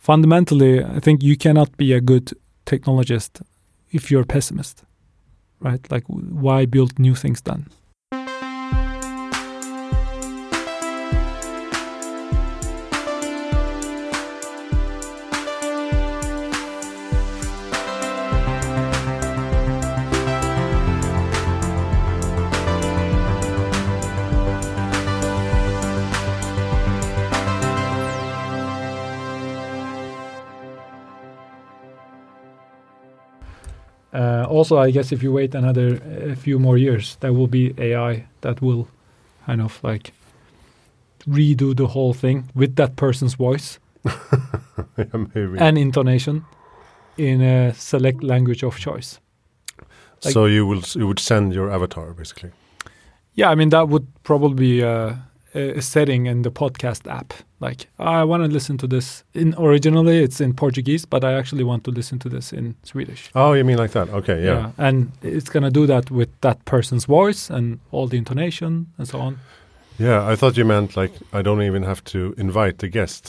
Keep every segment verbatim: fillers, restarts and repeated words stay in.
fundamentally, I think you cannot be a good technologist if you're a pessimist, right? Like, why build new things then? Uh, also, I guess if you wait another a few more years, there will be A I that will kind of like redo the whole thing with that person's voice yeah, maybe. and intonation in a select language of choice. Like, so you will you would send your avatar, basically? Yeah, I mean, that would probably be uh, a setting in the podcast app. Like, I want to listen to this. In originally, it's in Portuguese, but I actually want to listen to this in Swedish. Oh, you mean like that? Okay, yeah. yeah and it's going to do that with that person's voice and all the intonation and so on. Yeah, I thought you meant like I don't even have to invite the guest.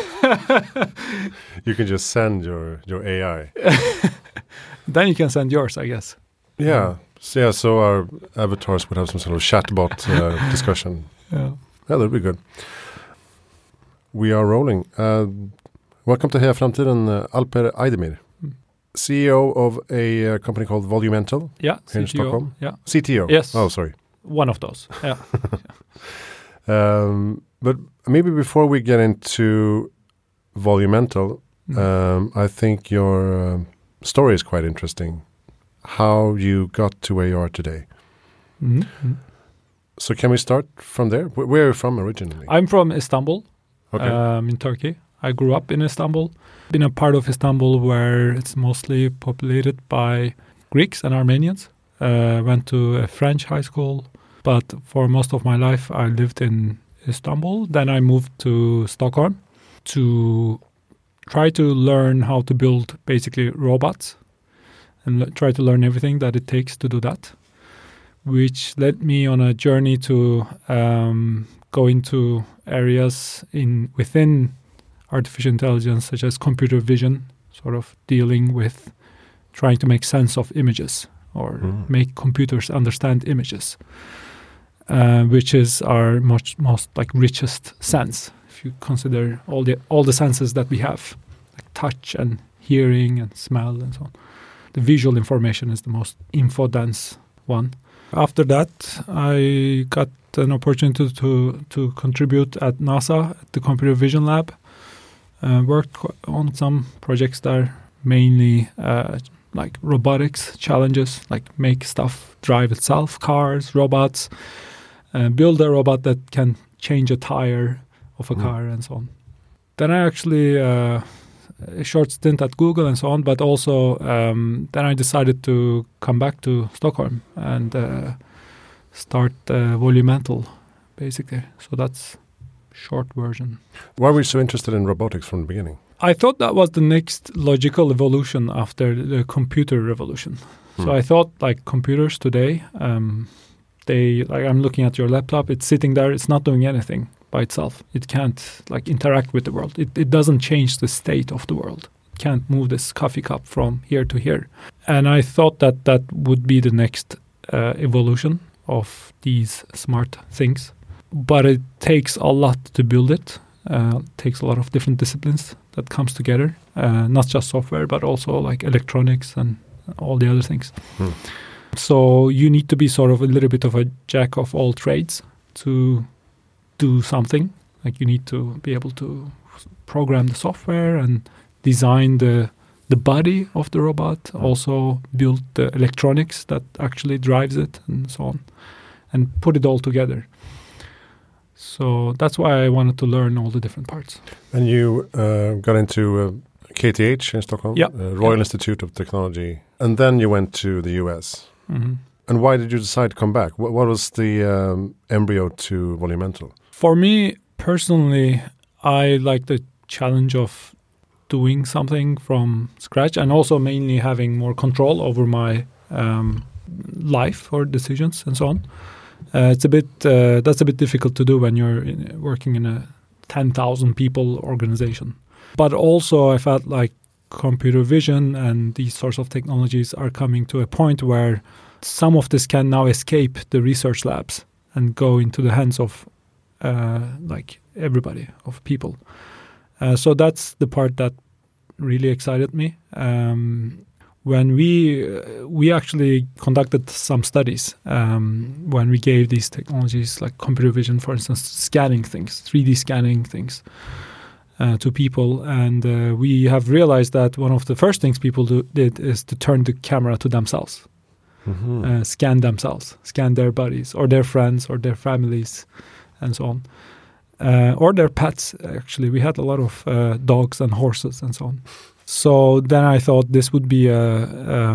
You can just send your, your A I. Then you can send yours, I guess. Yeah. So, yeah, so our avatars would have some sort of chatbot uh, discussion. Yeah. Yeah, that'd be good. We are rolling. Uh, welcome to Heja Framtiden, uh, Alper Eidemir, mm. C E O of a uh, company called Volumental. Yeah, here in C T O, Stockholm. Yeah, C T O. Yes. Oh, sorry. One of those. Yeah. um, but maybe before we get into Volumental, mm. um, I think your uh, story is quite interesting. How you got to where you are today. Mm-hmm. So can we start from there? Where, where are you from originally? I'm from Istanbul, okay. um, in Turkey. I grew up in Istanbul. Been a part of Istanbul where it's mostly populated by Greeks and Armenians. Uh, went to a French high school, but for most of my life I lived in Istanbul. Then I moved to Stockholm to try to learn how to build basically robots and le- try to learn everything that it takes to do that, which led me on a journey to um, go into areas in within artificial intelligence, such as computer vision, sort of dealing with trying to make sense of images or mm. make computers understand images, uh, which is our much most like richest sense. If you consider all the all the senses that we have, like touch and hearing and smell and so on, the visual information is the most info-dense one. After that, I got an opportunity to, to contribute at NASA, at the Computer Vision Lab. Uh, worked on some projects there, mainly uh, like robotics challenges, like make stuff drive itself, cars, robots, uh, build a robot that can change a tire of a mm. car and so on. Then I actually, uh, a short stint at Google and so on, but also um, then I decided to come back to Stockholm and uh, start uh, Volumental, basically. So that's short version. Why were you so interested in robotics from the beginning? I thought that was the next logical evolution after the computer revolution. Hmm. So I thought like computers today, um, they like I'm looking at your laptop, it's sitting there, it's not doing anything by itself. It can't like interact with the world. It it doesn't change the state of the world. It can't move this coffee cup from here to here. And I thought that that would be the next uh, evolution of these smart things. But it takes a lot to build it. Uh, it takes a lot of different disciplines that comes together. Uh, not just software, but also like electronics and all the other things. Hmm. So you need to be sort of a little bit of a jack of all trades to do something. Like you need to be able to program the software and design the the body of the robot, mm. also build the electronics that actually drives it and so on, and put it all together. So that's why I wanted to learn all the different parts. And you uh, got into uh, K T H in Stockholm, yeah. uh, Royal yeah. Institute of Technology, and then you went to the U S. Mm-hmm. And why did you decide to come back? What, what was the um, embryo to Volumental? For me personally, I like the challenge of doing something from scratch and also mainly having more control over my um, life or decisions and so on. Uh, it's a bit uh, that's a bit difficult to do when you're in, working in a ten thousand people organization. But also I felt like computer vision and these sorts of technologies are coming to a point where some of this can now escape the research labs and go into the hands of uh, like everybody, of people. Uh, so that's the part that really excited me. Um, when we uh, we actually conducted some studies um, when we gave these technologies like computer vision, for instance, scanning things, three D scanning things uh, to people. And uh, we have realized that one of the first things people do, did is to turn the camera to themselves. Mm-hmm. Uh, scan themselves, scan their bodies or their friends or their families and so on. Uh, or their pets, actually. We had a lot of uh, dogs and horses and so on. So then I thought this would be a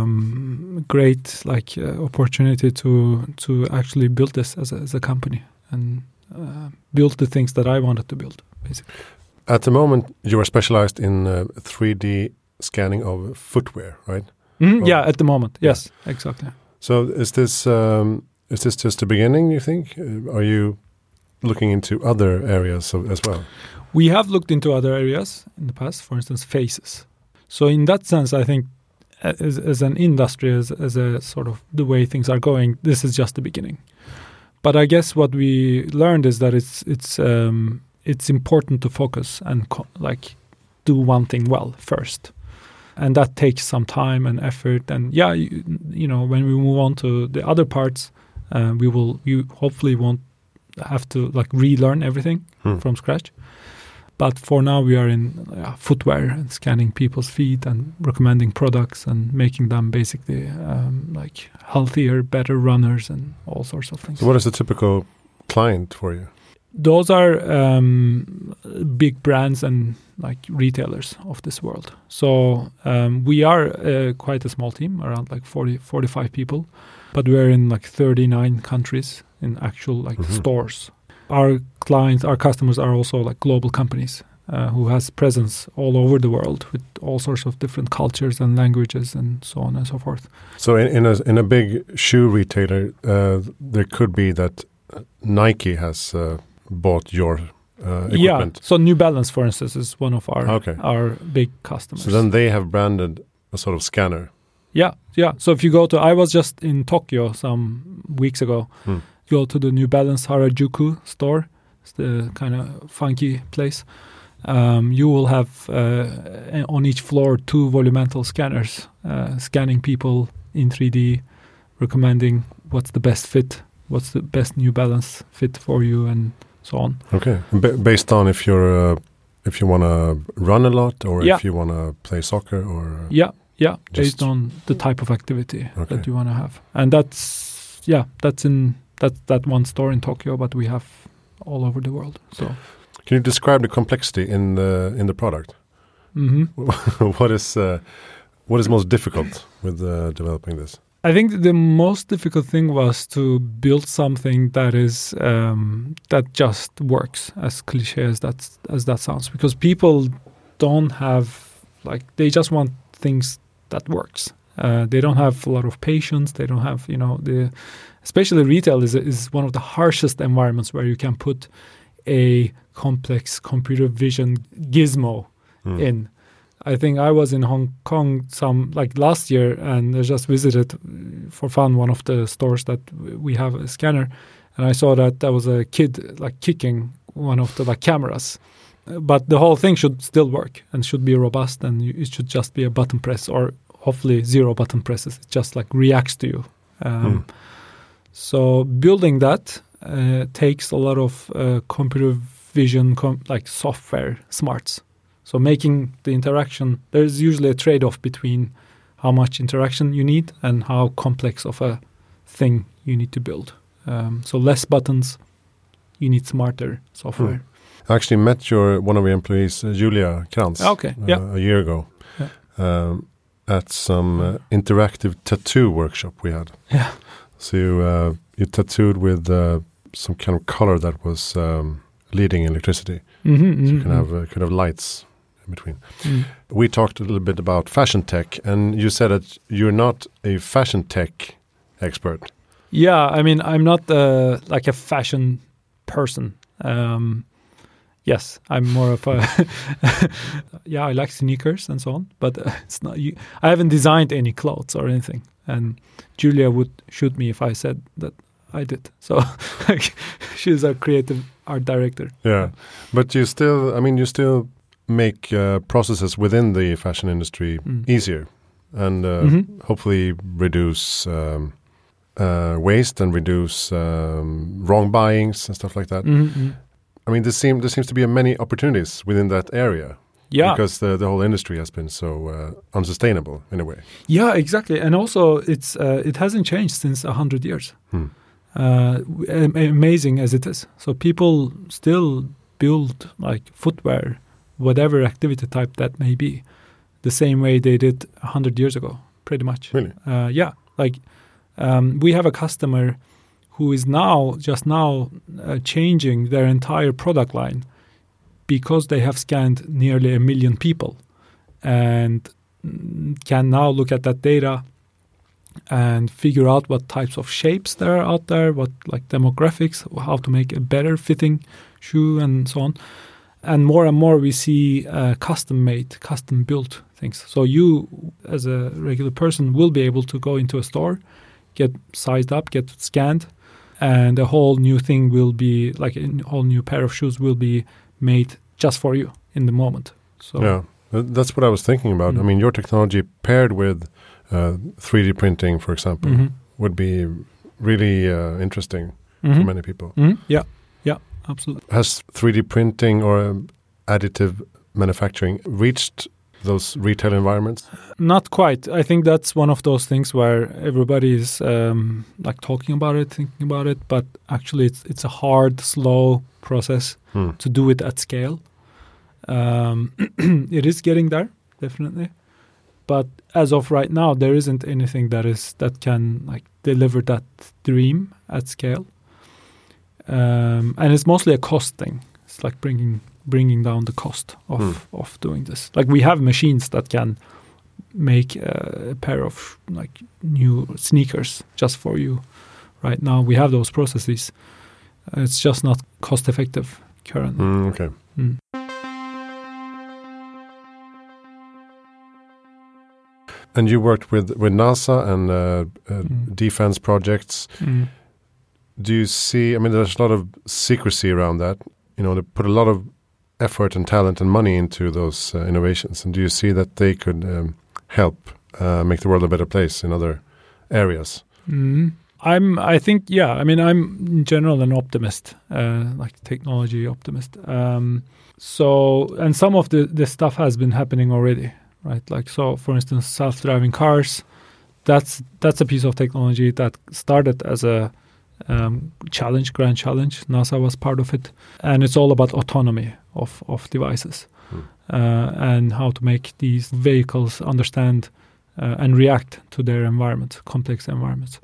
um, great like uh, opportunity to to actually build this as a, as a company and uh, build the things that I wanted to build, basically. At the moment, you are specialized in uh, three D scanning of footwear, right? Mm-hmm. Oh. Yeah, at the moment, yes, yeah. Exactly. So is this um, is this just the beginning, you think? Uh, are you looking into other areas of, as well? We have looked into other areas in the past, for instance, faces. So in that sense, I think as, as an industry, as, as a sort of the way things are going, this is just the beginning. But I guess what we learned is that it's it's um, it's important to focus and co- like do one thing well first. And that takes some time and effort. And yeah, you, you know, when we move on to the other parts, uh, we will, you hopefully won't have to like relearn everything hmm. from scratch. But for now, we are in uh, footwear and scanning people's feet and recommending products and making them basically um, like healthier, better runners and all sorts of things. So what is the typical client for you? Those are um, big brands and like retailers of this world. So um, we are uh, quite a small team, around like forty, forty-five people, but we're in like thirty-nine countries in actual like mm-hmm. stores. Our clients, our customers are also like global companies uh, who has presence all over the world with all sorts of different cultures and languages and so on and so forth. So in, in a in a big shoe retailer, uh, there could be that Nike has uh, bought your uh, equipment. Yeah. So New Balance, for instance, is one of our okay. our big customers. So then they have branded a sort of scanner. Yeah, yeah. So if you go to, I was just in Tokyo some weeks ago. Hmm. Go to the New Balance Harajuku store. It's the kind of funky place. Um, you will have uh, on each floor two volumental scanners uh, scanning people in three D, recommending what's the best fit, what's the best New Balance fit for you, and so on. Okay, B- based on if you're uh, if you want to run a lot or yeah. if you want to play soccer or yeah, yeah, based on the type of activity okay. that you want to have, and that's yeah, that's in. That's that one store in Tokyo, but we have all over the world. So, can you describe the complexity in the in the product? Mm-hmm. what is uh, what is most difficult with uh, developing this? I think the most difficult thing was to build something that is um, that just works, as cliche as that as that sounds, because people don't have like they just want things that works. Uh, they don't have a lot of patience. They don't have, you know, the especially retail is is one of the harshest environments where you can put a complex computer vision gizmo mm. in. I think I was in Hong Kong some like last year and I just visited for fun one of the stores that we have a scanner, and I saw that there was a kid like kicking one of the like cameras. But the whole thing should still work and should be robust, and you, it should just be a button press or hopefully zero button presses. It just like reacts to you. Um, mm. So building that uh, takes a lot of uh, computer vision, com- like software smarts. So making the interaction, there's usually a trade-off between how much interaction you need and how complex of a thing you need to build. Um, so less buttons, you need smarter software. Mm. I actually met your one of your employees, uh, Julia Krantz, okay. uh, yeah. a year ago. Yeah. Um, at some uh, interactive tattoo workshop we had. Yeah. So you, uh, you tattooed with uh, some kind of color that was um, leading electricity. Mm-hmm, so mm-hmm. you can have uh, kind of lights in between. Mm. We talked a little bit about fashion tech, and you said that you're not a fashion tech expert. Yeah, I mean, I'm not uh, like a fashion person. Um, Yes, I'm more of a yeah. I like sneakers and so on, but uh, it's not. You, I haven't designed any clothes or anything, and Julia would shoot me if I said that I did. So like, she's a creative art director. Yeah, but you still. I mean, you still make uh, processes within the fashion industry mm. easier, and uh, mm-hmm. hopefully reduce um, uh, waste and reduce um, wrong buyings and stuff like that. Mm-hmm. I mean, there seem there seems to be many opportunities within that area. Yeah, because the the whole industry has been so uh, unsustainable in a way. Yeah, exactly, and also it's uh, it hasn't changed since a hundred years. Hmm. Uh, amazing as it is, so people still build like footwear, whatever activity type that may be, the same way they did a hundred years ago, pretty much. Really? Uh, yeah, like um, we have a customer who is now just now uh, changing their entire product line because they have scanned nearly a million people and can now look at that data and figure out what types of shapes there are out there, what like demographics, how to make a better fitting shoe and so on. And more and more we see uh, custom-made, custom-built things. So you, as a regular person, will be able to go into a store, get sized up, get scanned, and a whole new thing will be, like a whole new pair of shoes will be made just for you in the moment. So yeah, that's what I was thinking about. Mm-hmm. I mean, your technology paired with uh, three D printing, for example, mm-hmm. would be really uh, interesting mm-hmm. for many people. Mm-hmm. Yeah, yeah, absolutely. Has three D printing or um, additive manufacturing reached those retail environments? Not quite. I think that's one of those things where everybody is um, like talking about it, thinking about it, but actually it's it's a hard, slow process hmm. to do it at scale. Um, it is getting there, definitely, but as of right now, there isn't anything that is that can like deliver that dream at scale. Um, and it's mostly a cost thing. It's like bringing bringing down the cost of mm. of doing this. Like we have machines that can make uh, a pair of like new sneakers just for you. Right now we have those processes. Uh, it's just not cost effective currently. Mm, okay. Mm. And you worked with, with NASA and uh, uh, mm. defense projects. Mm. Do you see, I mean, there's a lot of secrecy around that. You know, they put a lot of effort and talent and money into those uh, innovations. And do you see that they could um, help uh, make the world a better place in other areas? Mm. I'm, I think, yeah, I mean, I'm in general an optimist, uh, like technology optimist. Um, so, and some of the, the stuff has been happening already, right? Like, so for instance, self-driving cars, that's, that's a piece of technology that started as a um, challenge, grand challenge. NASA was part of it. And it's all about autonomy of, of devices hmm. uh, and how to make these vehicles understand uh, and react to their environment, complex environments.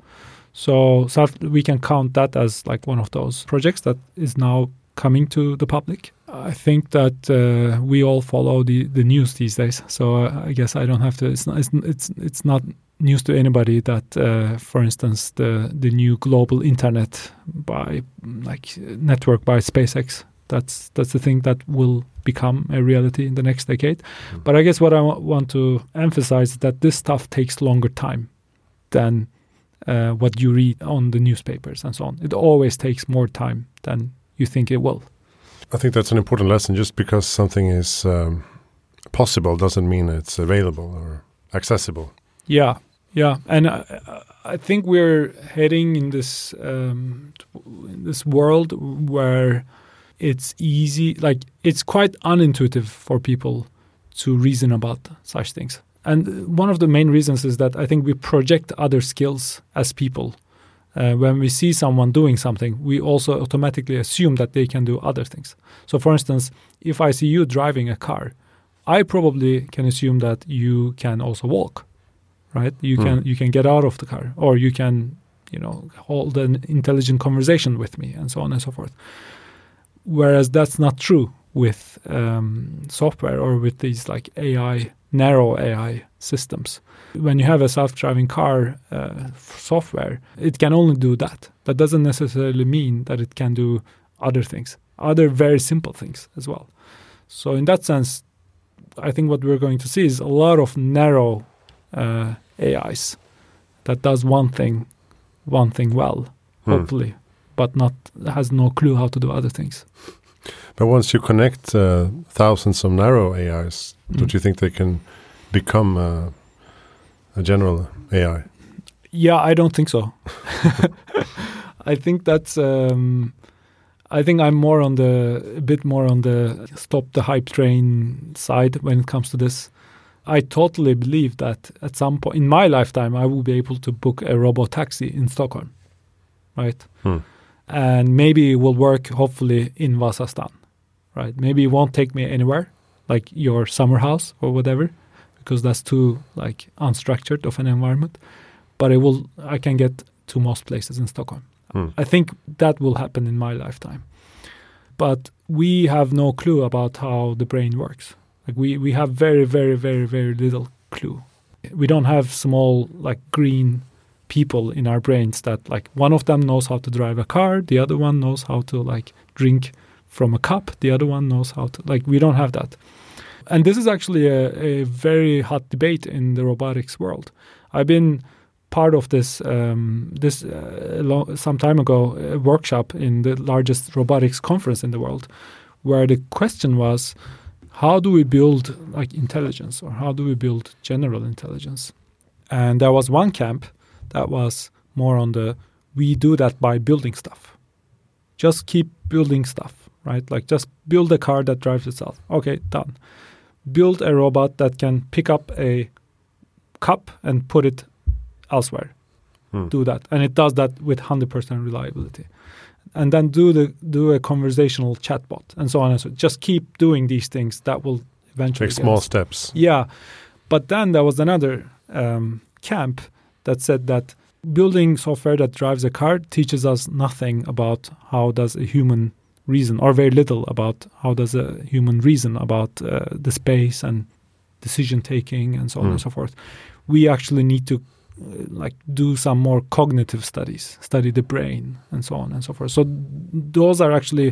So self, we can count that as like one of those projects that is now coming to the public. I think that uh, we all follow the, the news these days. So uh, I guess I don't have to. It's not. It's it's, it's not news to anybody that, uh, for instance, the the new global internet by like network by SpaceX. That's that's the thing that will become a reality in the next decade. Mm-hmm. But I guess what I w- want to emphasize is that this stuff takes longer time than Uh, what you read on the newspapers and so on. It always takes more time than you think it will. I think that's an important lesson. Just because something is um, possible doesn't mean it's available or accessible. Yeah, yeah. And I, I think we're heading in this um, in this world where it's easy, like it's quite unintuitive for people to reason about such things. And one of the main reasons is that I think we project other skills as people. Uh, when we see someone doing something, we also automatically assume that they can do other things. So, for instance, if I see you driving a car, I probably can assume that you can also walk, right? You mm. can you can get out of the car, or you can, you know, hold an intelligent conversation with me, and so on and so forth. Whereas that's not true with um, software or with these like A I. Narrow A I systems. When you have a self-driving car uh, software, it can only do that. That doesn't necessarily mean that it can do other things. other very simple things as well. So in that sense, I think what we're going to see is a lot of narrow uh, A Is that does one thing, one thing well, hopefully, hmm. but not has no clue how to do other things. But once you connect uh, thousands of narrow A Is, mm. don't you think they can become uh, a general A I? Yeah, I don't think so. I think that's. Um, I think I'm more on the a bit more on the stop the hype train side when it comes to this. I totally believe that at some point in my lifetime, I will be able to book a robot taxi in Stockholm, right? Hmm. And maybe it will work, hopefully, in Vasastan, right? Maybe it won't take me anywhere, like your summer house or whatever, because that's too like unstructured of an environment. But it will. I can get to most places in Stockholm. Hmm. I think that will happen in my lifetime. But we have no clue about how the brain works. Like we, we have very, very, very, very little clue. We don't have small like green people in our brains that like one of them knows how to drive a car, the other one knows how to like drink from a cup, the other one knows how to like we don't have that. And this is actually a, a very hot debate in the robotics world. I've been part of this um, this uh, lo- some time ago a workshop in the largest robotics conference in the world, where the question was, how do we build like intelligence, or how do we build general intelligence? And there was one camp that was more on the we do that by building stuff. Just keep building stuff, right? Like just build a car that drives itself. Okay, done. Build a robot that can pick up a cup and put it elsewhere. Hmm. Do that. And it does that with one hundred percent reliability. And then do the do a conversational chatbot and so on and so on. Just keep doing these things that will eventually take small us. steps. Yeah. But then there was another um, camp that said that building software that drives a car teaches us nothing about how does a human reason, or very little about how does a human reason about uh, the space and decision taking and so on mm. and so forth. We actually need to uh, like do some more cognitive studies, study the brain and so on and so forth. So th- those are actually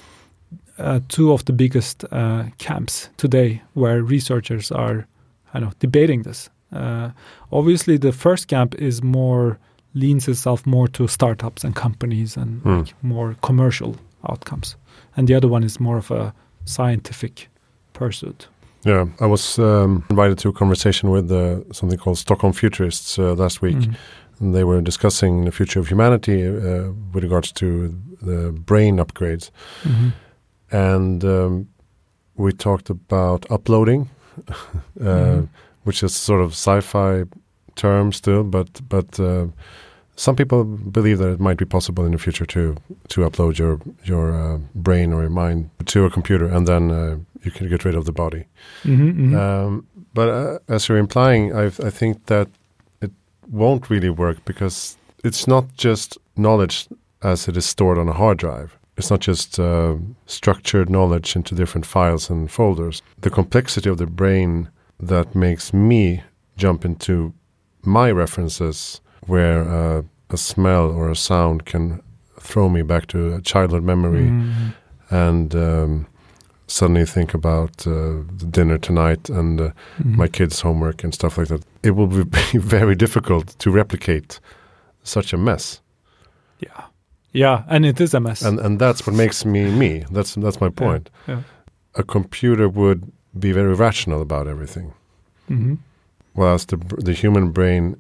uh, two of the biggest uh, camps today where researchers are kind of debating this. Uh, obviously, the first camp is more leans itself more to startups and companies and mm. like more commercial outcomes, and the other one is more of a scientific pursuit. Yeah, I was um, invited to a conversation with uh, something called Stockholm Futurists uh, last week, mm. and they were discussing the future of humanity uh, with regards to the brain upgrades, mm-hmm. and um, we talked about uploading. uh, mm. which is sort of sci-fi term still, but but uh, some people believe that it might be possible in the future to to upload your your uh, brain or your mind to a computer, and then uh, you can get rid of the body. Mm-hmm, mm-hmm. Um, but uh, as you're implying, I I think that it won't really work, because it's not just knowledge as it is stored on a hard drive. It's not just uh, structured knowledge into different files and folders. The complexity of the brain that makes me jump into my references, where uh, a smell or a sound can throw me back to a childhood memory, mm-hmm. and um, suddenly think about uh, the dinner tonight and uh, mm-hmm. my kids' homework and stuff like that. It will be very difficult to replicate such a mess. Yeah, yeah, and it is a mess. And and that's what makes me me. That's that's my point. Yeah, yeah. A computer would be very rational about everything, mm-hmm. whereas the the human brain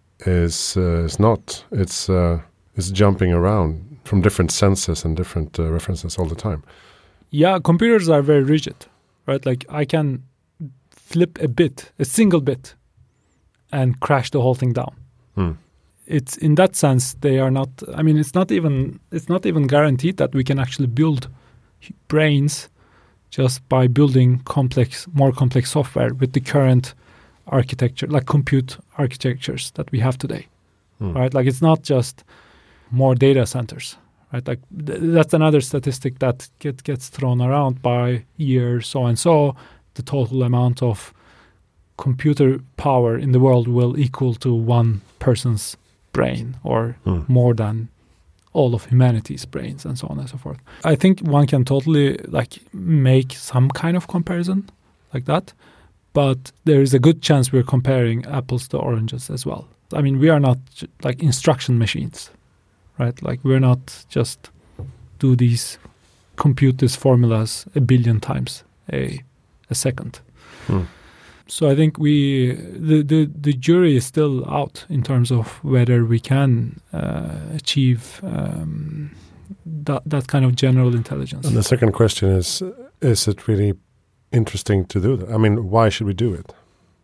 is uh, is not. It's uh, it's jumping around from different senses and different uh, references all the time. Yeah, computers are very rigid, right? Like I can flip a bit, a single bit, and crash the whole thing down. Hmm. It's in that sense they are not. I mean, it's not even it's not even guaranteed that we can actually build brains just by building complex, more complex software with the current architecture, like compute architectures that we have today, mm. right? Like it's not just more data centers, right? Like th- that's another statistic that get, gets thrown around by year so and so. The total amount of computer power in the world will equal to one person's brain, or mm. more than all of humanity's brains and so on and so forth. I think one can totally like make some kind of comparison like that, but there is a good chance we're comparing apples to oranges as well. I mean, we are not like instruction machines, right? Like we're not just do these, compute these formulas a billion times a a second. Hmm. So I think we the, the, the jury is still out in terms of whether we can uh, achieve um, that that kind of general intelligence. And the second question is: is it really interesting to do that? I mean, why should we do it?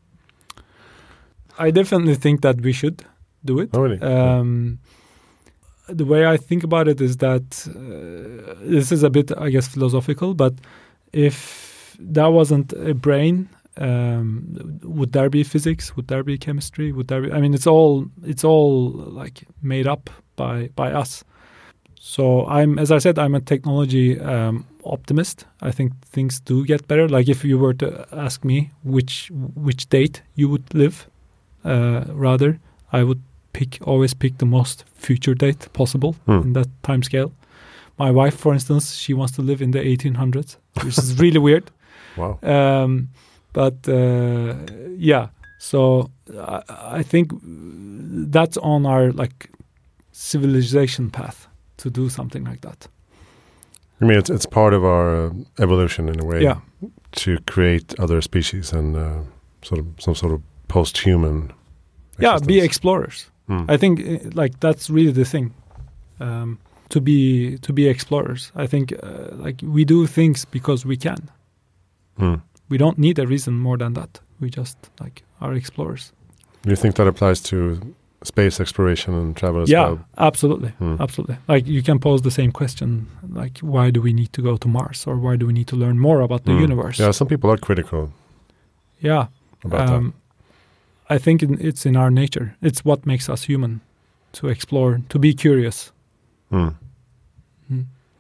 I definitely think that we should do it. Oh, really? Um, yeah. The way I think about it is that uh, this is a bit, I guess, philosophical. But if there wasn't a brain, Um, would there be physics? Would there be chemistry? Would there be? I mean, it's all it's all like made up by by us. So I'm, as I said, I'm a technology um, optimist. I think things do get better. Like if you were to ask me which which date you would live, uh, rather, I would pick always pick the most future date possible hmm. in that time scale. My wife, for instance, she wants to live in the eighteen hundreds, which is really weird. Wow. Um, But uh, yeah, so I, I think that's on our like civilization path to do something like that. I mean, it's it's part of our uh, evolution in a way, yeah. to create other species and uh, sort of some sort of post-human. Existence. Yeah, be explorers. Mm. I think uh, like that's really the thing. Um, to be to be explorers. I think uh, like we do things because we can. Mm. We don't need a reason more than that. We just like are explorers. Do you think that applies to space exploration and travel as yeah, well? Yeah, absolutely, hmm. absolutely. Like you can pose the same question, like why do we need to go to Mars, or why do we need to learn more about the hmm. universe? Yeah, some people are critical. Yeah, about um, that. I think in, it's in our nature. It's what makes us human, to explore, to be curious. Hmm. Hmm.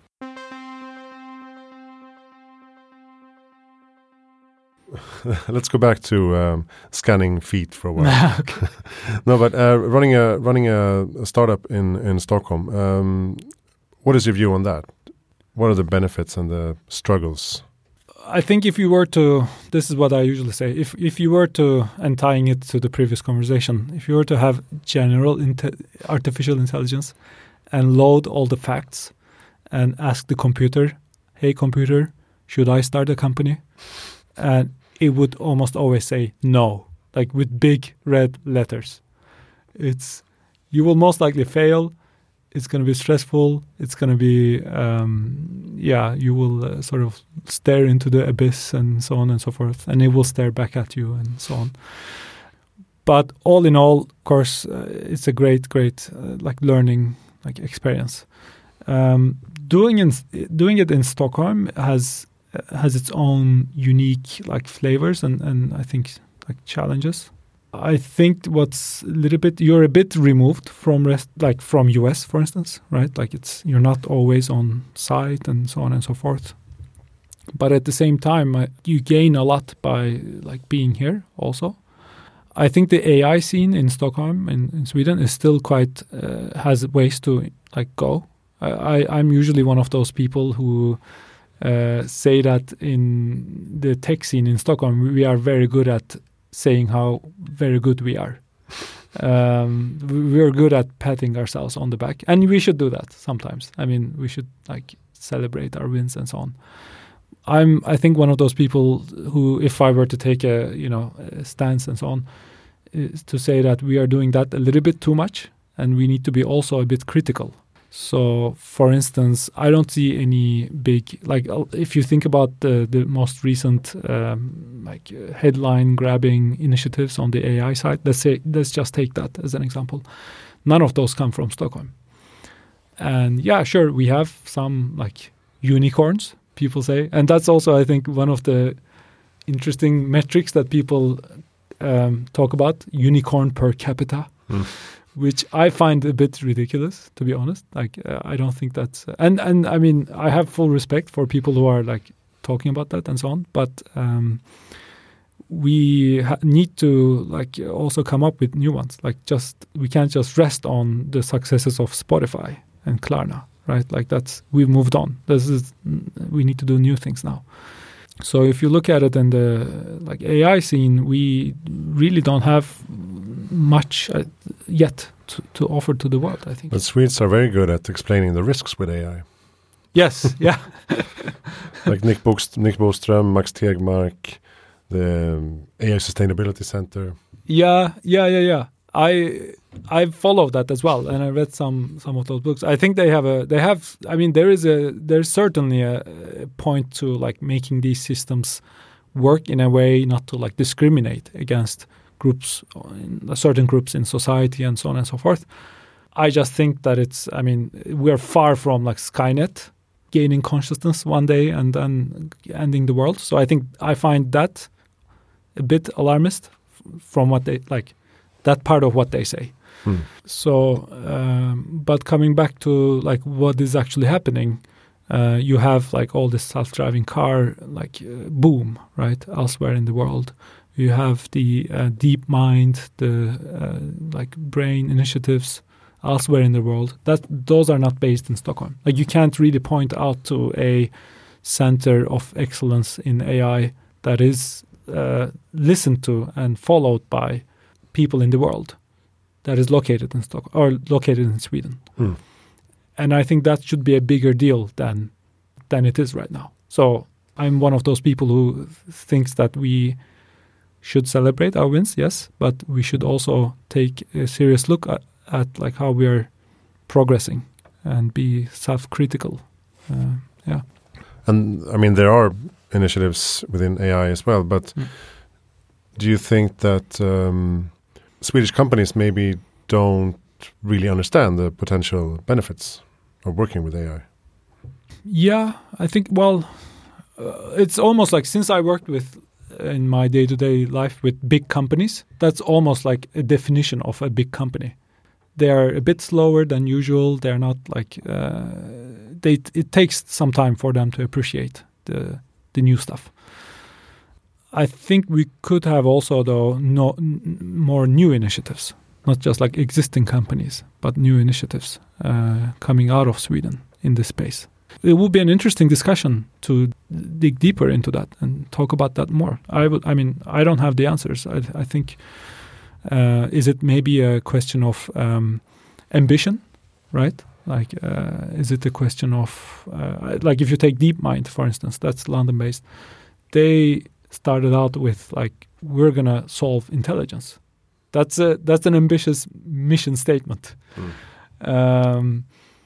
Let's go back to um, scanning feet for a while. No, but uh, running a running a, a startup in in Stockholm. Um, what is your view on that? What are the benefits and the struggles? I think if you were to, this is what I usually say. If if you were to, and tying it to the previous conversation, if you were to have general inte- artificial intelligence and load all the facts and ask the computer, "Hey computer, should I start a company?" And it would almost always say no, like with big red letters. It's, you will most likely fail. It's going to be stressful. It's going to be, um, yeah, you will uh, sort of stare into the abyss and so on and so forth. And it will stare back at you and so on. But all in all, of course, uh, it's a great, great uh, like learning like experience. Um, doing in, doing it in Stockholm has has its own unique like flavors and, and I think like challenges. I think what's a little bit, you're a bit removed from rest, like from U S, for instance, right? Like it's, you're not always on site and so on and so forth. But at the same time, uh, you gain a lot by like being here also. I think the A I scene in Stockholm in, in Sweden is still quite, uh, has ways to like go. I, I, I'm usually one of those people who Uh, say that in the tech scene in Stockholm, we are very good at saying how very good we are. Um, we are good at patting ourselves on the back, and we should do that sometimes. I mean, we should like celebrate our wins and so on. I'm, I think, one of those people who, if I were to take a, you know, a stance and so on, is to say that we are doing that a little bit too much, and we need to be also a bit critical. So, for instance, I don't see any big, like, if you think about the, the most recent, um, like, uh, headline-grabbing initiatives on the A I side, let's say, let's just take that as an example. None of those come from Stockholm. And, yeah, sure, we have some, like, unicorns, people say. And that's also, I think, one of the interesting metrics that people um, talk about, unicorn per capita. Mm. Which I find a bit ridiculous, to be honest. Like, uh, I don't think that's... Uh, and, and, I mean, I have full respect for people who are, like, talking about that and so on. But um, we ha- need to, like, also come up with new ones. Like, just... We can't just rest on the successes of Spotify and Klarna, right? Like that's, we've moved on. This is, we need to do new things now. So if you look at it in the like A I scene, we really don't have much uh, yet to, to offer to the world, I think. But Swedes are very good at explaining the risks with A I. Yes, yeah. Like Nick, Bokst- Nick Boström, Max Tegmark, the um, A I Sustainability Center. Yeah, yeah, yeah, yeah. I I followed that as well, and I read some some of those books. I think they have a they have. I mean, there is a there's certainly a, a point to like making these systems work in a way not to like discriminate against groups, certain groups in society, and so on and so forth. I just think that it's. I mean, we're far from like Skynet gaining consciousness one day and then ending the world. So I think I find that a bit alarmist from what they like. That part of what they say. Hmm. So, um, but coming back to like what is actually happening, uh, you have like all this self-driving car like uh, boom, right, elsewhere in the world. You have the uh, DeepMind, the uh, like brain initiatives elsewhere in the world. That those are not based in Stockholm. Like you can't really point out to a center of excellence in A I that is uh, listened to and followed by people in the world that is located in Stockholm or located in Sweden. Mm. And I think that should be a bigger deal than than it is right now. So I'm one of those people who thinks that we should celebrate our wins, yes, but we should also take a serious look at, at like how we are progressing and be self-critical. Uh, yeah. And I mean, there are initiatives within A I as well, but mm. do you think that um, Swedish companies maybe don't really understand the potential benefits of working with A I? Yeah, I think, well, uh, it's almost like since I worked with, in my day-to-day life with big companies, that's almost like a definition of a big company. They're a bit slower than usual. They're not like, uh, they. It takes some time for them to appreciate the the new stuff. I think we could have also, though, no, n- more new initiatives, not just like existing companies, but new initiatives uh, coming out of Sweden in this space. It would be an interesting discussion to dig deeper into that and talk about that more. I would. I mean, I don't have the answers. I, I think, uh, is it maybe a question of um, ambition, right? Like, uh, is it a question of, uh, like if you take DeepMind, for instance, that's London-based, they started out with like, we're going to solve intelligence. That's a, that's an ambitious mission statement. Mm. Um,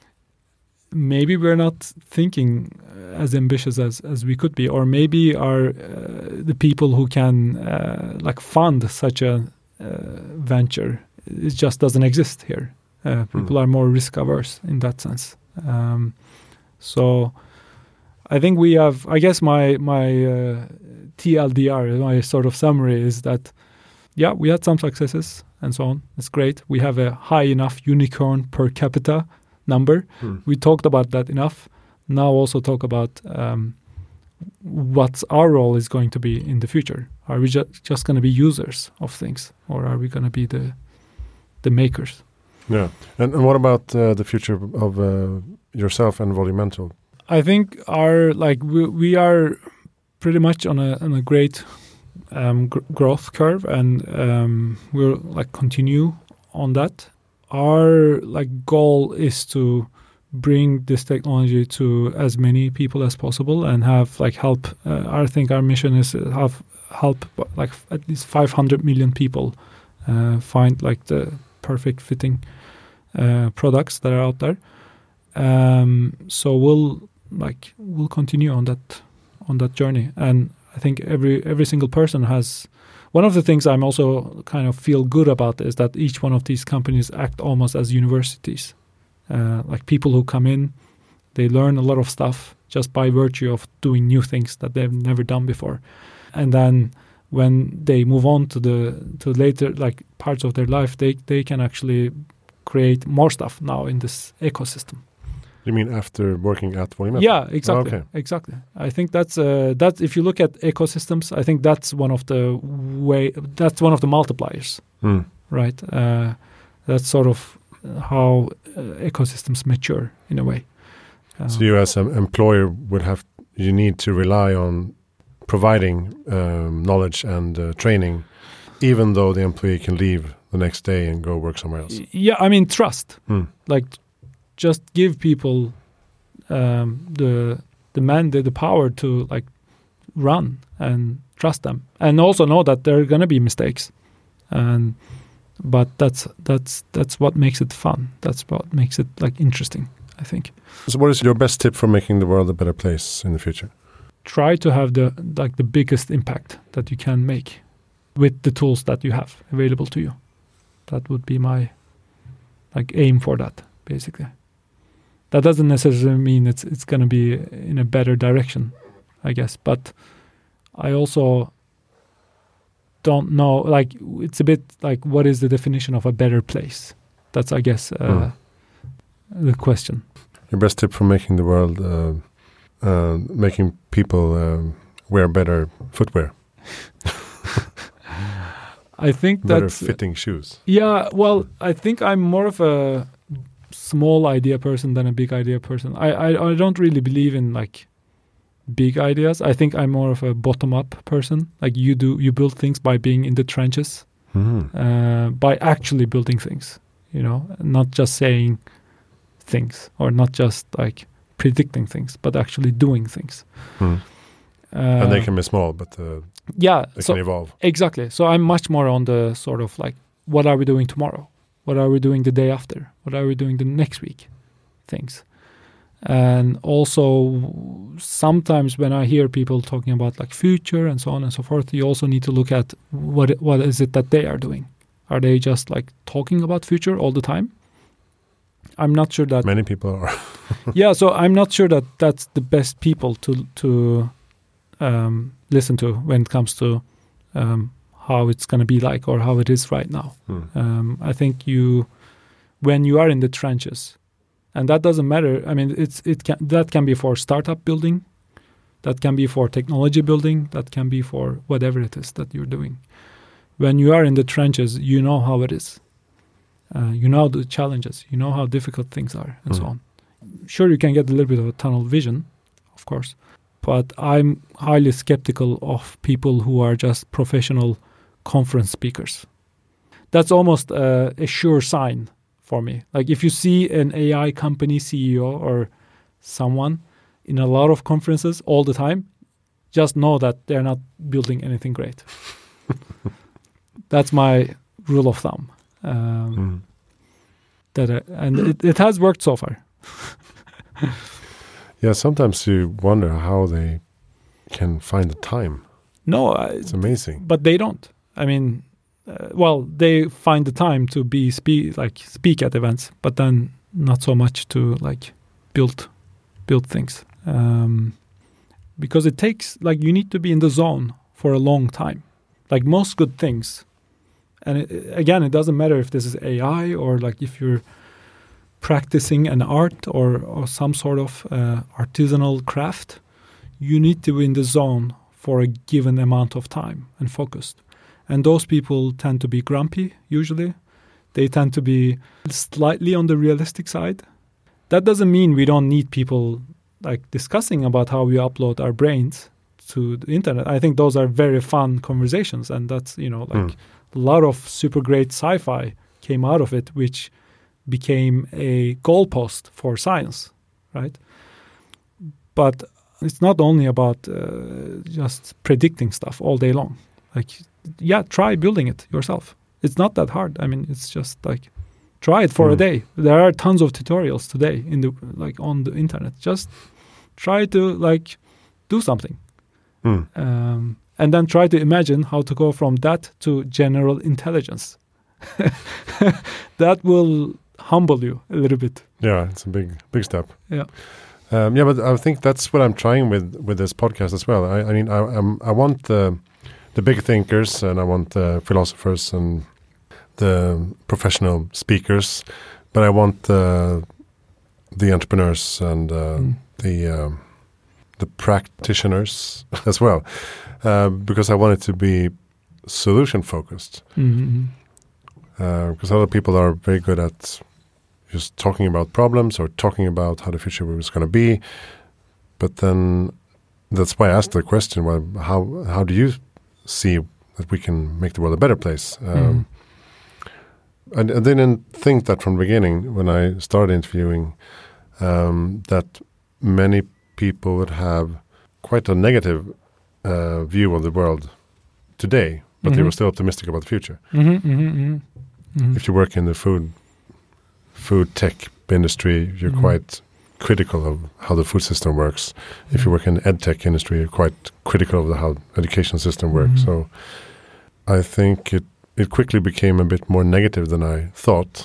maybe we're not thinking as ambitious as, as we could be, or maybe our uh, the people who can uh, like fund such a uh, venture, it just doesn't exist here. Uh, people mm. are more risk averse in that sense. Um, so I think we have, I guess my my uh, T L D R, my sort of summary is that, yeah, we had some successes and so on. It's great. We have a high enough unicorn per capita number. Mm. We talked about that enough. Now also talk about um, what our role is going to be in the future. Are we ju- just going to be users of things, or are we going to be the the makers? Yeah. And, and what about uh, the future of uh, yourself and Volumental? I think our like we, we are pretty much on a on a great um, gr- growth curve, and um, we'll like continue on that. Our like goal is to bring this technology to as many people as possible and have like help. Uh, I think our mission is to have help like at least five hundred million people uh, find like the perfect fitting uh, products that are out there. Um, so we'll like we'll continue on that on that journey, and I think every every single person has. One of the things I'm also kind of feel good about is that each one of these companies act almost as universities. Uh, like people who come in, they learn a lot of stuff just by virtue of doing new things that they've never done before. And then when they move on to the to later like parts of their life, they, they can actually create more stuff now in this ecosystem. You mean after working at Volumental? Yeah, exactly. Oh, okay. Exactly. I think that's uh, that. If you look at ecosystems, I think that's one of the way. That's one of the multipliers, mm. right? Uh, that's sort of how uh, ecosystems mature in a way. Um, so you as an employer would have, you need to rely on providing um, knowledge and uh, training, even though the employee can leave the next day and go work somewhere else. Yeah, I mean, trust. Hmm. Like, just give people um, the the mandate, the power to like run and trust them, and also know that there are going to be mistakes. And but that's that's that's what makes it fun. That's what makes it like interesting, I think. So, what is your best tip for making the world a better place in the future? Try to have the like the biggest impact that you can make with the tools that you have available to you. That would be my like aim for that, basically. That doesn't necessarily mean it's it's going to be in a better direction, I guess. But I also don't know, like, it's a bit like, what is the definition of a better place? That's, I guess, uh, mm. the question. Your best tip for making the world, uh, uh, making people uh, wear better footwear. I think better that's... fitting shoes. Yeah, well, I think I'm more of a small idea person than a big idea person. I, I, I don't really believe in, like, big ideas. I think I'm more of a bottom-up person. Like, you do, you build things by being in the trenches, mm-hmm. uh, by actually building things, you know, not just saying things or not just, like, predicting things, but actually doing things. Mm. Uh, and they can be small, but uh, yeah, they so, can evolve. Exactly. So I'm much more on the sort of like, what are we doing tomorrow? What are we doing the day after? What are we doing the next week? Things. And also sometimes when I hear people talking about like future and so on and so forth, you also need to look at what what is it that they are doing. Are they just like talking about future all the time? I'm not sure that... Many people are. Yeah, so I'm not sure that that's the best people to to um, listen to when it comes to um, how it's going to be like or how it is right now. Hmm. Um, I think you, when you are in the trenches, and that doesn't matter. I mean, it's it can that can be for startup building, that can be for technology building, that can be for whatever it is that you're doing. When you are in the trenches, you know how it is. Uh, you know the challenges. You know how difficult things are, and hmm. so on. Sure, you can get a little bit of a tunnel vision, of course, but I'm highly skeptical of people who are just professional conference speakers. That's almost uh, a sure sign for me. Like if you see an A I company C E O or someone in a lot of conferences all the time, just know that they're not building anything great. That's my rule of thumb. Um, mm. That I, and it, it has worked so far. Yeah, sometimes you wonder how they can find the time. No, I, it's amazing. But they don't. I mean, uh, well, they find the time to be speak like speak at events, but then not so much to like build build things. Um, because it takes like you need to be in the zone for a long time. Like most good things. And it, again, it doesn't matter if this is A I or like if you're practicing an art or, or some sort of uh, artisanal craft, you need to be in the zone for a given amount of time and focused. And those people tend to be grumpy, usually. They tend to be slightly on the realistic side. That doesn't mean we don't need people like discussing about how we upload our brains to the internet. I think those are very fun conversations, and that's, you know, like... Mm. A lot of super great sci-fi came out of it, which became a goalpost for science, right? But it's not only about uh, just predicting stuff all day long. Like, yeah, try building it yourself. It's not that hard. I mean, it's just like, try it for mm. a day. There are tons of tutorials today in the like on the internet. Just try to like do something. Mm. Um, And then try to imagine how to go from that to general intelligence. That will humble you a little bit. Yeah, it's a big, big step. Yeah, um, yeah, but I think that's what I'm trying with with this podcast as well. I, I mean, I, I'm, I want the the big thinkers, and I want the philosophers and the professional speakers, but I want the the entrepreneurs and uh, mm. the um, the practitioners as well. Uh, because I want it to be solution focused. Mm-hmm. Uh, because other people are very good at just talking about problems or talking about how the future was going to be. But then that's why I asked the question, well, how how do you see that we can make the world a better place? Um, mm. I, I didn't think that from the beginning when I started interviewing um, that many people would have quite a negative uh, view of the world today, but mm-hmm. they were still optimistic about the future. Mm-hmm, mm-hmm, mm-hmm. Mm-hmm. If you work in the food food tech industry, you're mm-hmm. quite critical of how the food system works. Mm-hmm. If you work in the ed tech industry, you're quite critical of the, how the education system works. Mm-hmm. So I think it, it quickly became a bit more negative than I thought.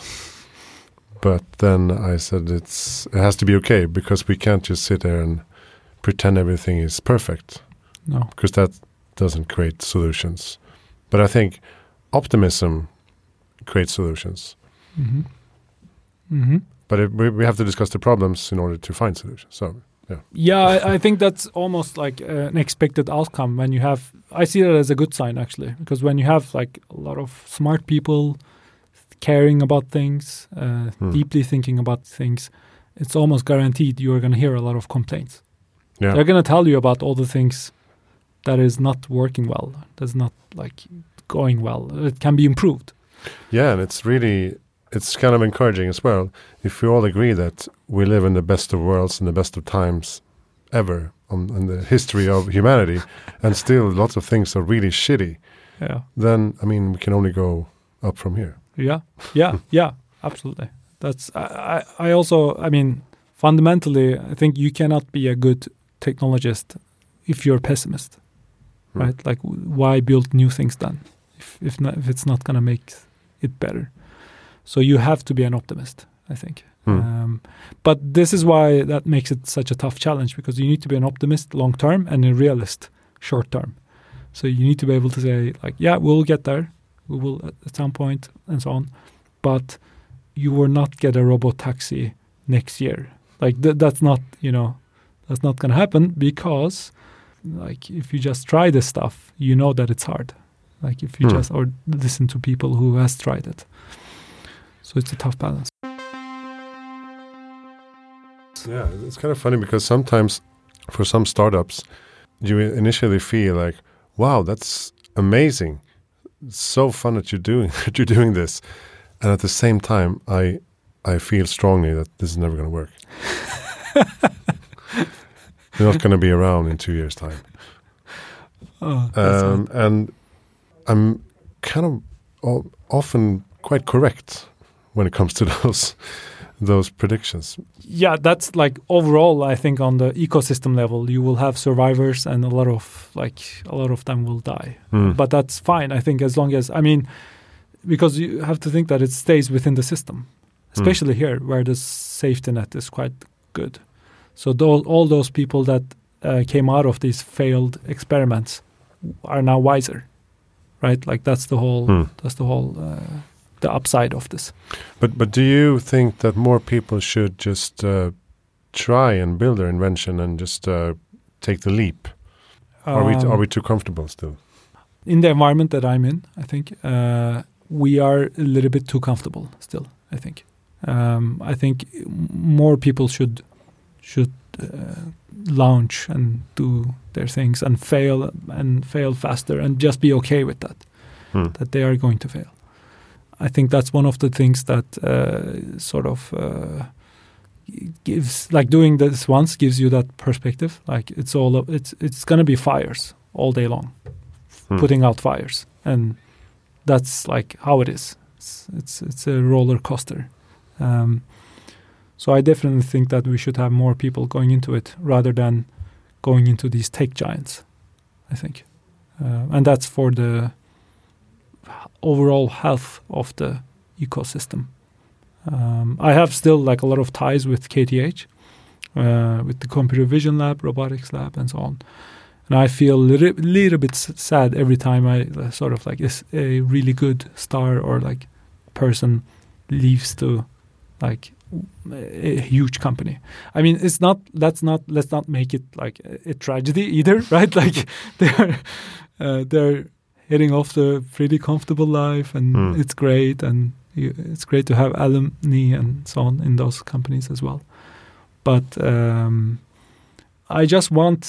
But then I said it's it has to be okay, because we can't just sit there and pretend everything is perfect. No. Because that doesn't create solutions. But I think optimism creates solutions. Mm-hmm. Mm-hmm. But it, we, we have to discuss the problems in order to find solutions. So, yeah. Yeah, I, I think that's almost like uh, an expected outcome when you have, I see that as a good sign actually, because when you have like a lot of smart people caring about things, uh, hmm. deeply thinking about things, it's almost guaranteed you're going to hear a lot of complaints. Yeah. They're going to tell you about all the things that is not working well, that's not like going well. It can be improved. Yeah, and it's really, it's kind of encouraging as well. If we all agree that we live in the best of worlds and the best of times ever on, in the history of humanity, and still lots of things are really shitty, yeah. then, I mean, we can only go up from here. Yeah, yeah, yeah, absolutely. That's, I, I also, I mean, fundamentally, I think you cannot be a good technologist if you're a pessimist, hmm. right? Like, why build new things then if if, not, if it's not going to make it better? So you have to be an optimist, I think. Hmm. Um, but this is why that makes it such a tough challenge, because you need to be an optimist long term and a realist short term. So you need to be able to say, like, yeah, we'll get there. We will at some point and so on. But you will not get a robot taxi next year. Like, th- that's not, you know, that's not going to happen, because, like, if you just try this stuff, you know that it's hard. Like, if you hmm. just, or listen to people who has tried it. So it's a tough balance. Yeah, it's kind of funny because sometimes for some startups, you initially feel like, wow, that's amazing. It's so fun that you're doing that you're doing this. And at the same time, I I feel strongly that this is never going to work. You're not going to be around in two years' time. Oh, um, and I'm kind of o- often quite correct when it comes to those those predictions. Yeah, that's like overall, I think on the ecosystem level, you will have survivors and a lot of like a lot of them will die. Mm. But that's fine, I think, as long as, I mean, because you have to think that it stays within the system, especially mm. here where the safety net is quite good. So those, all those people that uh, came out of these failed experiments are now wiser, right? Like that's the whole, mm. that's the whole, uh, the upside of this. But but do you think that more people should just uh, try and build their invention and just uh, take the leap? Um, are we t- are we too comfortable still? In the environment that I'm in, I think uh, we are a little bit too comfortable still. I think um, I think more people should should uh, launch and do their things and fail and fail faster and just be okay with that. Hmm. That they are going to fail. I think that's one of the things that uh, sort of uh, gives, like doing this once gives you that perspective. Like it's all, it's it's going to be fires all day long, hmm. putting out fires, and that's like how it is. It's it's, it's a roller coaster. Um, so I definitely think that we should have more people going into it rather than going into these tech giants. I think, uh, and that's for the overall health of the ecosystem. Um, I have still like a lot of ties with K T H, uh, with the computer vision lab, robotics lab, and so on. And I feel a little, little bit sad every time I uh, sort of like is a really good star or like person leaves to like a huge company. I mean, it's not, let's not, let's not make it like a, a tragedy either, right? Like they're, uh, they're, heading off the pretty comfortable life and mm. it's great and You, it's great to have alumni and so on in those companies as well. But um, I just want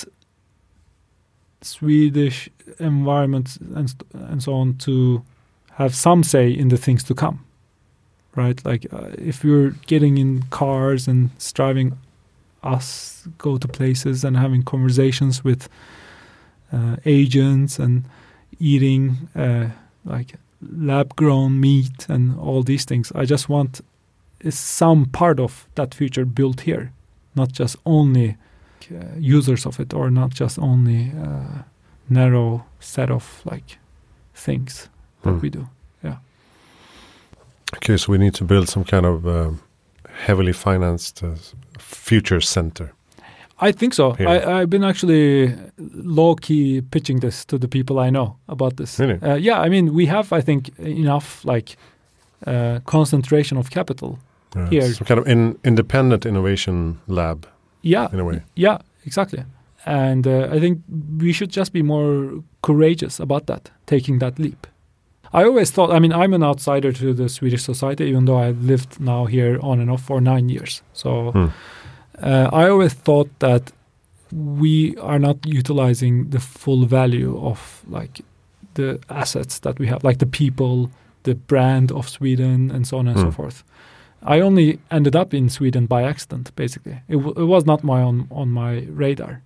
Swedish environment and and so on to have some say in the things to come, right? Like uh, if you're getting in cars and driving us go to places and having conversations with uh, agents and eating uh, like lab-grown meat and all these things, I just want some part of that future built here, not just only uh, users of it, or not just only uh, narrow set of like things that mm. we do. Yeah. Okay, so we need to build some kind of uh, heavily financed uh, future center. I think so. I, I've been actually low-key pitching this to the people I know about this. Really? Uh, yeah, I mean, we have, I think, enough like uh, concentration of capital yeah, here. Some kind of in, independent innovation lab. Yeah, in a way. Yeah, exactly. And uh, I think we should just be more courageous about that, taking that leap. I always thought, I mean, I'm an outsider to the Swedish society, even though I've lived now here on and off for nine years. So hmm. uh, I always thought that we are not utilizing the full value of like the assets that we have, like the people, the brand of Sweden, and so on and hmm. so forth. I only ended up in Sweden by accident, basically. It, w- it was not my own on my radar.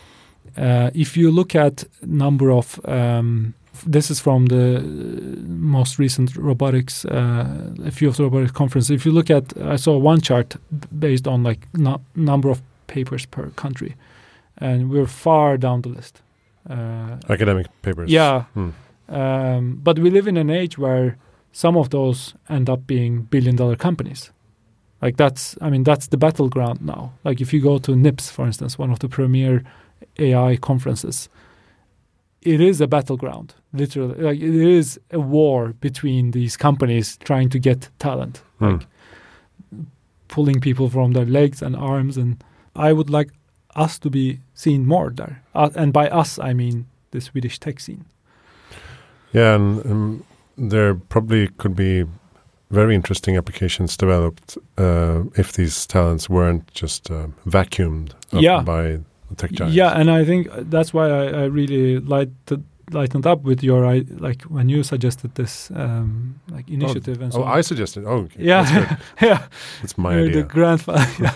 Uh, if you look at number of, um, this is from the most recent robotics, uh, a few of the robotics conferences. If you look at, I saw one chart based on like no, number of papers per country, and we're far down the list. Uh, Academic papers. Yeah, hmm. um, but we live in an age where some of those end up being billion-dollar companies. Like that's, I mean, that's the battleground now. Like if you go to N I P S, for instance, one of the premier A I conferences, it is a battleground, literally. Like it is a war between these companies trying to get talent, mm. like pulling people from their legs and arms. And I would like us to be seen more there. Uh, and by us, I mean the Swedish tech scene. Yeah, and um, there probably could be very interesting applications developed uh, if these talents weren't just uh, vacuumed up yeah. by the tech giants. Yeah, and I think that's why I, I really lighted, lightened up with your, I, like when you suggested this um, like initiative. Oh, and so oh on. I suggested. Oh, okay. Yeah, That's yeah. It's my You're idea. The grandfather. yeah.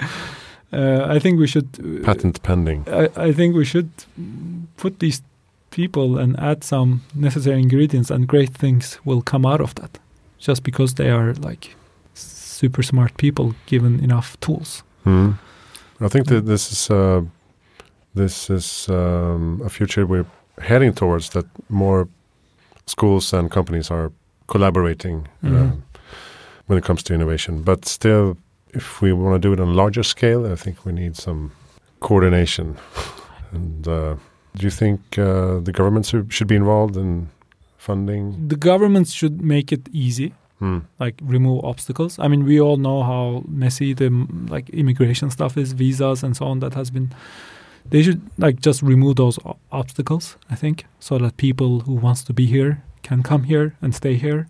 uh, I think we should uh, patent pending. I, I think we should put these people and add some necessary ingredients, and great things will come out of that, just because they are like super smart people given enough tools. Mm. I think that this is uh, this is um, a future we're heading towards, that more schools and companies are collaborating mm-hmm. uh, when it comes to innovation. But still, if we want to do it on a larger scale, I think we need some coordination. And uh, do you think uh, the governments should be involved in funding? The governments should make it easy, hmm. like remove obstacles. I mean, we all know how messy the like immigration stuff is, visas and so on. That has been. They should like just remove those o- obstacles, I think, so that people who wants to be here can come here and stay here.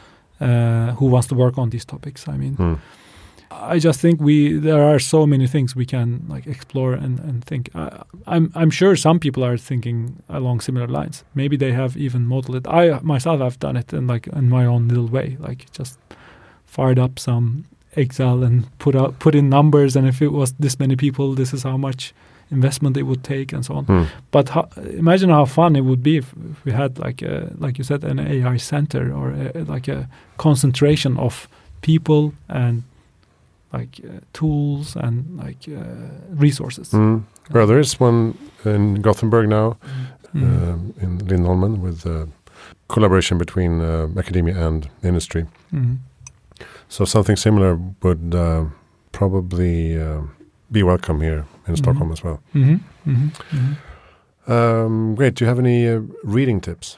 Uh, who wants to work on these topics? I mean, hmm. I just think we there are so many things we can like explore and and think. Uh, I'm I'm sure some people are thinking along similar lines. Maybe they have even modeled it. I myself have done it in like in my own little way, like just fired up some Excel and put out put in numbers, and if it was this many people, this is how much investment it would take and so on. Hmm. But how, imagine how fun it would be if, if we had like a, like you said, an A I center, or a, like a concentration of people and like uh, tools and like uh, resources. Mm. Well, there is one in Gothenburg now, mm. um, in Lindholmen, with uh, collaboration between uh, academia and industry. Mm. So something similar would uh, probably uh, be welcome here in mm-hmm. Stockholm as well. Mm-hmm. Mm-hmm. Mm-hmm. Um, great. Do you have any uh, reading tips?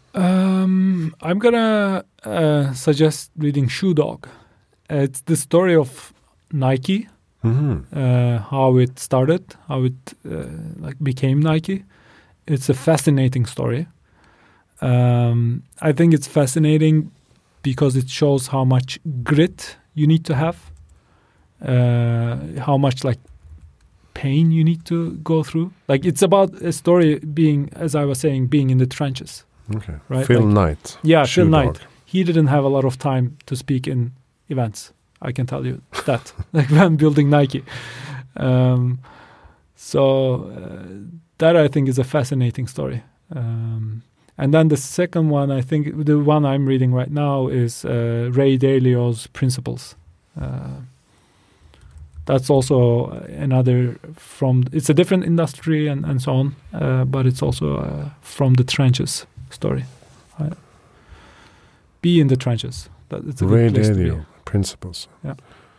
Um, I'm gonna uh, suggest reading Shoe Dog. Uh, it's the story of Nike, mm-hmm. uh, how it started, how it uh, like became Nike. It's a fascinating story. Um, I think it's fascinating because it shows how much grit you need to have, uh, how much like pain you need to go through. Like it's about a story being, as I was saying, being in the trenches. Okay. Right? Phil like, Knight. Yeah, Shoe Phil dog. Knight. He didn't have a lot of time to speak in events. I can tell you that. Like when building Nike. Um, so uh, that I think is a fascinating story. Um, and then the second one, I think the one I'm reading right now is uh, Ray Dalio's Principles. Uh, that's also another from, it's a different industry and, and so on, uh, but it's also uh, from the trenches story. I, be in the trenches. That, it's a Ray good place to be. Dalio, Principles. Yeah.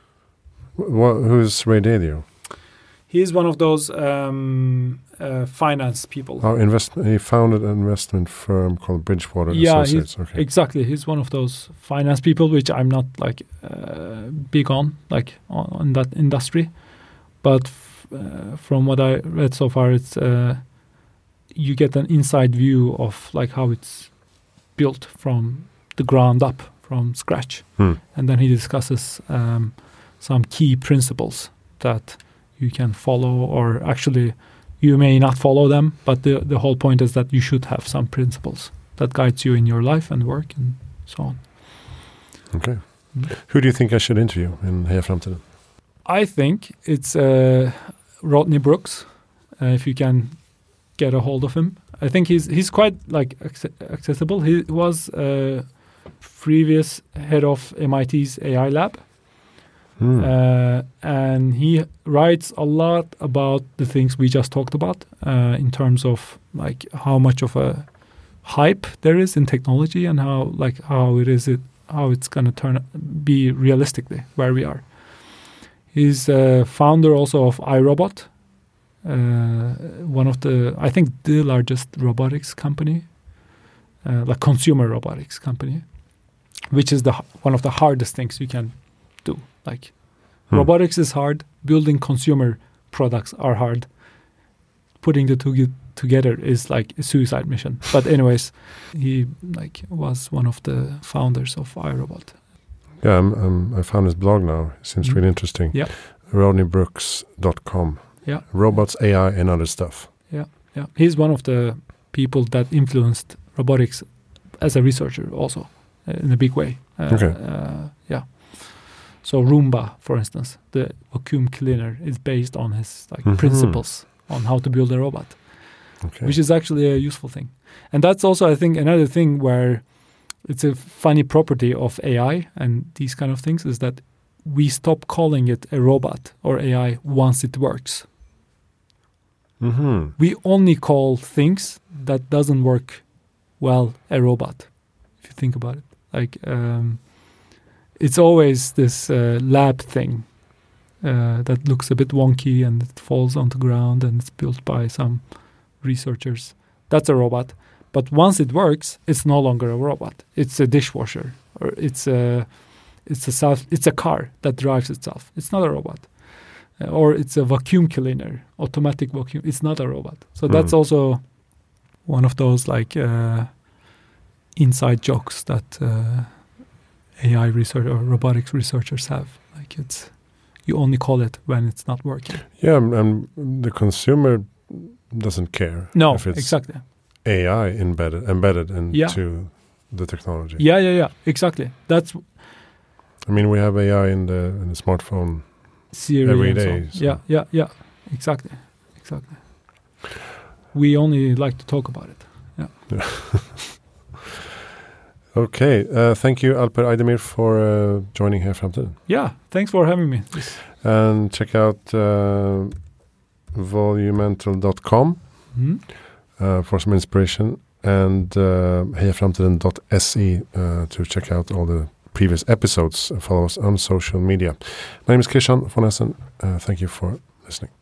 Wh- who's Ray Dalio? He's one of those um, uh, finance people. Oh, invest. He founded an investment firm called Bridgewater Yeah, Associates. he's, Okay. exactly. He's one of those finance people, which I'm not like uh, big on, like on, on that industry. But f- uh, from what I read so far, it's uh, you get an inside view of like how it's built from the ground up, from scratch, Hmm. and then he discusses um, some key principles that you can follow, or actually you may not follow them, but the, the whole point is that you should have some principles that guides you in your life and work and so on. Okay. Mm. Who do you think I should interview in Heja Framtiden? I think it's uh, Rodney Brooks, uh, if you can get a hold of him. I think he's he's quite like ac- accessible. He was uh, previous head of M I T's A I lab. Hmm. Uh, and he writes a lot about the things we just talked about uh, in terms of like how much of a hype there is in technology and how like how it is it how it's going to turn be realistically where we are. He's uh, founder also of iRobot, uh, one of the I think the largest robotics company, uh, like consumer robotics company, which is the one of the hardest things you can do. Like Hmm. robotics is hard, building consumer products are hard. Putting the two together is like a suicide mission. But anyways, he like was one of the founders of iRobot. Yeah, I'm, I'm, I found his blog now. It seems Mm. really interesting. Yeah. rodney brooks dot com. Yeah. Robots, A I, and other stuff. Yeah, yeah. He's one of the people that influenced robotics as a researcher also uh, in a big way. Uh, Okay. Uh, yeah. So Roomba, for instance, the vacuum cleaner is based on his like Mhm. principles on how to build a robot, Okay. which is actually a useful thing. And that's also, I think, another thing where it's a funny property of A I and these kind of things is that we stop calling it a robot or A I once it works. Mm-hmm. We only call things that doesn't work well a robot, if you think about it. Like um, it's always this uh, lab thing uh, that looks a bit wonky and it falls on the ground and it's built by some researchers. That's a robot. But once it works, it's no longer a robot. It's a dishwasher, or it's a it's a self, it's a car that drives itself. It's not a robot. Uh, or it's a vacuum cleaner, automatic vacuum. It's not a robot. So Hmm. that's also one of those like uh, inside jokes that uh, A I research or robotics researchers have. Like it's you only call it when it's not working. Yeah, and, and the consumer doesn't care No, if it's exactly. A I embedded embedded into Yeah. the technology. Yeah, yeah, yeah. Exactly. That's I mean, we have A I in the in the smartphone. Siri Every and so day, on. so- Yeah, yeah, yeah. Exactly, exactly. We only like to talk about it. Yeah. Okay, uh, thank you, Alper Aydemir, for uh, joining Heja Framtiden. Yeah. Thanks for having me. This- And check out uh, volumental dot com Mhm. uh, for some inspiration, and uh, heja framtiden dot se uh, to check out all the previous episodes. Follow us on social media. My name is Christian von Essen. Uh, thank you for listening.